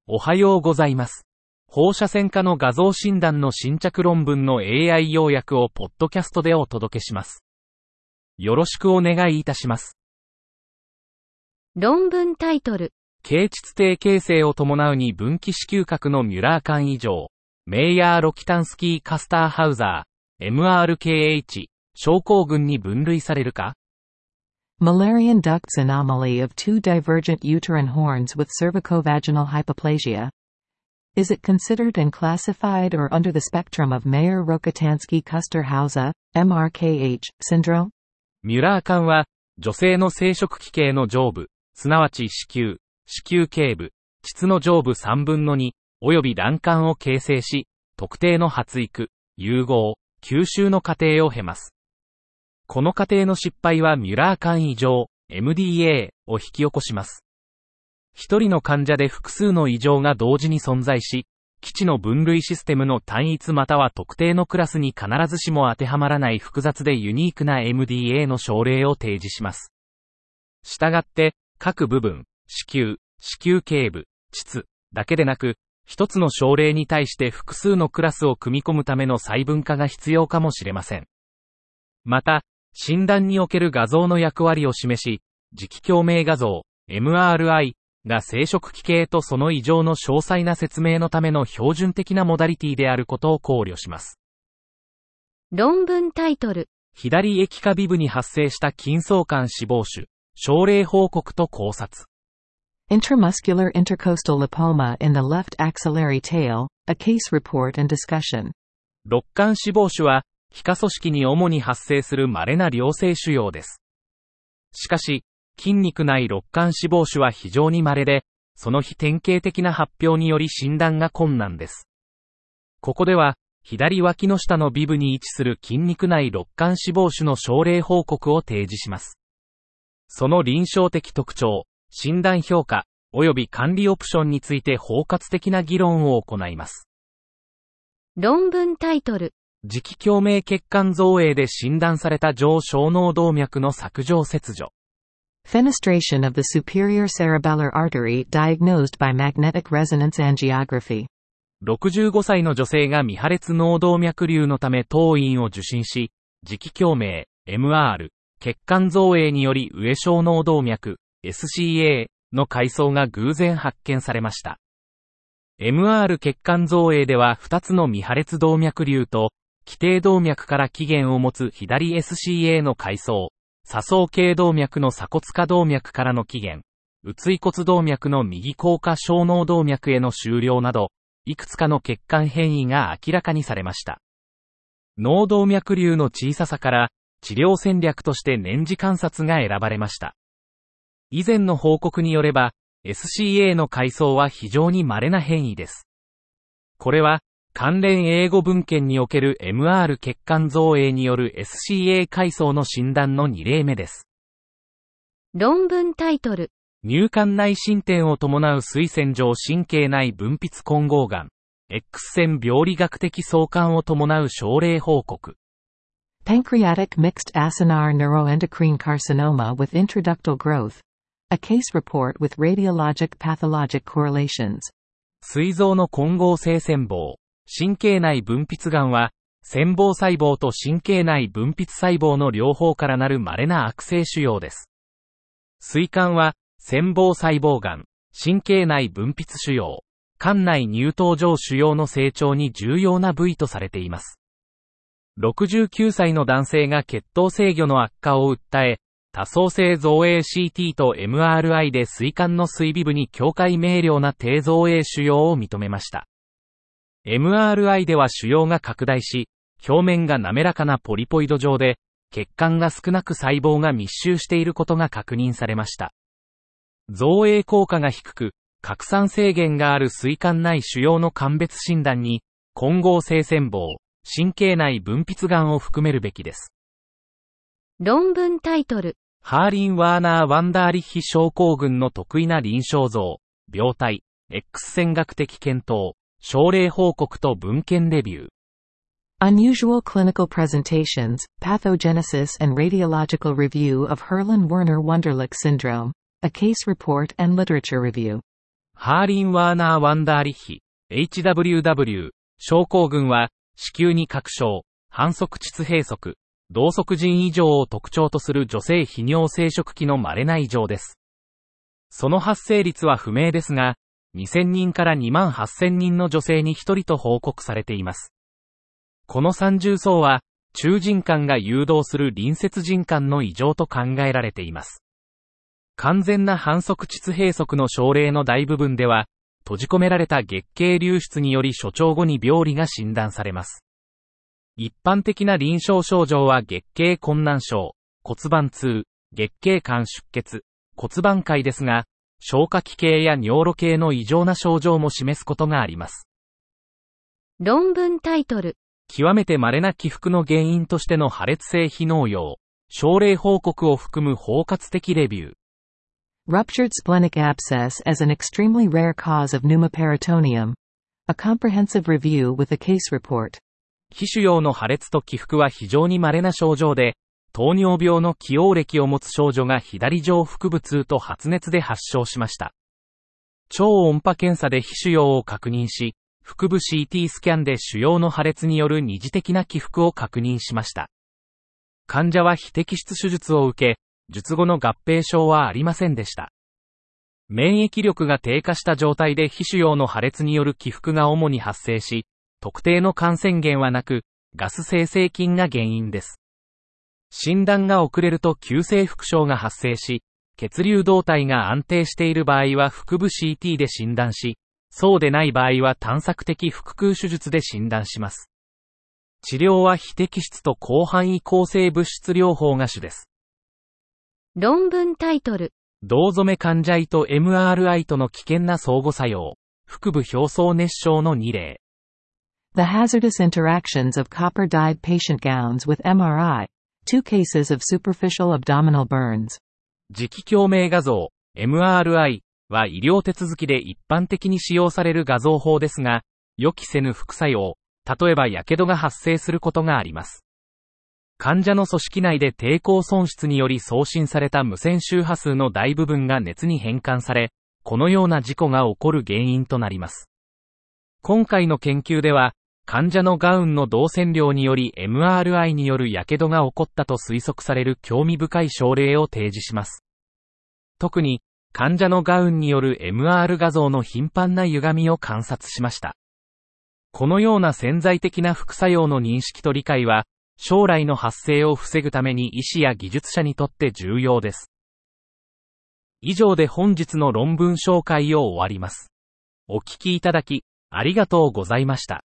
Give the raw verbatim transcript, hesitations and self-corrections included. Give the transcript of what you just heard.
おはようございます。放射線科の画像診断の新着論文の エーアイ 要約をポッドキャストでお届けします。よろしくお願いいたします。 論文タイトル。 経腟底形成を伴うに分岐子宮核のミュラー管異常、メイヤー・ロキタンスキー・カスターハウザー、エムアールケーエイチ、症候群に分類されるか？ Mullerian ducts anomaly of two divergent uterine horns with cervicovaginal hypoplasia. Is it considered and classified or under the spectrum of Mayer-Rokitansky-Kuster-Hauser, エムアールケーエイチ syndrome? ミュラー管は、女性の生殖器系の上部、すなわち子宮、子宮頸部、膣の上部さんぶんのに、及び卵管を形成し、特定の発育、融合、吸収の過程を経ます。この過程の失敗はミュラー管異常、エムディーエー を引き起こします。一人の患者で複数の異常が同時に存在し、基地の分類システムの単一または特定のクラスに必ずしも当てはまらない複雑でユニークな エムディーエー の症例を提示します。したがって、各部分、子宮、子宮頸部、膣だけでなく、一つの症例に対して複数のクラスを組み込むための細分化が必要かもしれません。また、診断における画像の役割を示し、磁気共鳴画像、エムアールアイ が生殖器系とその異常の詳細な説明のための標準的なモダリティであることを考慮します。 論文タイトル。 左液化ビブに発生した筋相関脂肪腫、症例報告と考察。 Intramuscular intercostal lipoma in the left axillary tail, a case report and discussion. 肋間脂肪腫は、皮下組織に主に発生する稀な良性腫瘍です。しかし、筋肉内肋間脂肪腫は非常に稀で、その非典型的な発表により診断が困難です。ここでは、左脇の下のビブに位置する筋肉内肋間脂肪腫の症例報告を提示します。その臨床的特徴、診断評価、及び管理オプションについて包括的な議論を行います。 論文タイトル。 磁気共鳴血管造影で診断された上小脳動脈の索状切除。 Fenestration of the superior cerebellar artery diagnosed by magnetic resonance angiography. ろくじゅうごさいの女性が未破裂脳動脈瘤のため当院を受診し、磁気共鳴、エムアール、血管造影により上小脳動脈、エスシーエー の階層が偶然発見されました。エムアール 血管造影ではふたつの未破裂動脈瘤と、基底動脈から起源を持つ左 エスシーエー の階層、左相系動脈の鎖骨下動脈からの起源、内骨動脈の右後下小脳動脈への終了など、いくつかの血管変異が明らかにされました。脳動脈瘤の小ささから、治療戦略として年次観察が選ばれました。以前の報告によれば、エスシーエー の階層は非常に稀な変異です。これは、関連英語文献における エムアール 血管造影による エスシーエー 階層の診断のに例目です。 論文タイトル。 乳管内伸展を伴う水線状神経内分泌混合がん、X 線病理学的相関を伴う症例報告。 Pancreatic mixed acinar neuroendocrine carcinoma with intraductal growth. A case report with radiologic pathologic correlations. 膵臓の混合性腺房、神経内分泌がんは、腺房細胞と神経内分泌細胞の両方からなる稀な悪性腫瘍です。膵管は、腺房細胞がん、神経内分泌腫瘍、管内乳頭状腫瘍の成長に重要な部位とされています。ろくじゅうきゅうさいの男性が血糖制御の悪化を訴え、多層性造影 シーティー と エムアールアイ で膵管の膵尾部に境界明瞭な低造影腫瘍を認めました。エムアールアイ では腫瘍が拡大し、表面が滑らかなポリポイド状で、血管が少なく細胞が密集していることが確認されました。造影効果が低く、拡散制限がある膵管内腫瘍の鑑別診断に、混合性腺房、神経内分泌がんを含めるべきです。 論文タイトル。 ハーリン・ワーナー・ワンダーリッヒ症候群の得意な臨床像、病態、X 線学的検討、症例報告と文献レビュー。 Unusual clinical presentations, pathogenesis and radiological review of Herrlin-Werner Wunderlich syndrome, a case report and literature review. ハーリン・ワーナー・ワンダーリッヒ、エイチダブリューダブリュー、症候群は、子宮に拡張、反則膣閉塞、同側腎異常を特徴とする女性非尿生殖器の稀な異常です。その発生率は不明ですが、にせんにんからにまんはっせんにんの女性にひとりと報告されています。この三重層は、中腎管が誘導する隣接腎管の異常と考えられています。完全な反則膣閉塞の症例の大部分では、閉じ込められた月経流出により初潮後に病理が診断されます。一般的な臨床症状は月経困難症、骨盤痛、月経管出血、骨盤潰ですが、消化器系や尿路系の異常な症状も示すことがあります。 論文タイトル。 極めて稀な起伏の原因としての破裂性非農用、症例報告を含む包括的レビュー。 Ruptured splenic abscess as an extremely rare cause of pneumoperitoneum. A comprehensive review with a case report. 皮腫瘍の破裂と起伏は非常に稀な症状で、糖尿病の既往歴を持つ少女が左上腹部痛と発熱で発症しました。超音波検査で皮腫瘍を確認し、腹部 シーティー スキャンで腫瘍の破裂による二次的な起伏を確認しました。患者は非摘出手術を受け、術後の合併症はありませんでした。免疫力が低下した状態で皮腫瘍の破裂による起伏が主に発生し、特定の感染源はなく、ガス生成菌が原因です。診断が遅れると急性腹症が発生し、血流動態が安定している場合は腹部 シーティー で診断し、そうでない場合は探索的腹腔手術で診断します。治療は非摘出と広範囲抗生物質療法が主です。 論文タイトル。 銅染め患者胃と エムアールアイ との危険な相互作用。腹部表層熱傷のに例。 The hazardous interactions of copper-dyed patient gowns with エムアールアイ. Two cases of superficial abdominal burns. 磁気共鳴画像 エムアールアイ は医療手続きで一般的に使用される画像法ですが、予期せぬ副作用、例えば火傷が発生することがあります。患者の組織内で抵抗損失により送信された無線周波数の大部分が熱に変換され、このような事故が起こる原因となります。今回の研究では、患者のガウンの導線量により エムアールアイ による火傷が起こったと推測される興味深い症例を提示します。特に、患者のガウンによる エムアール 画像の頻繁な歪みを観察しました。このような潜在的な副作用の認識と理解は、将来の発生を防ぐために医師や技術者にとって重要です。以上で本日の論文紹介を終わります。お聞きいただき、ありがとうございました。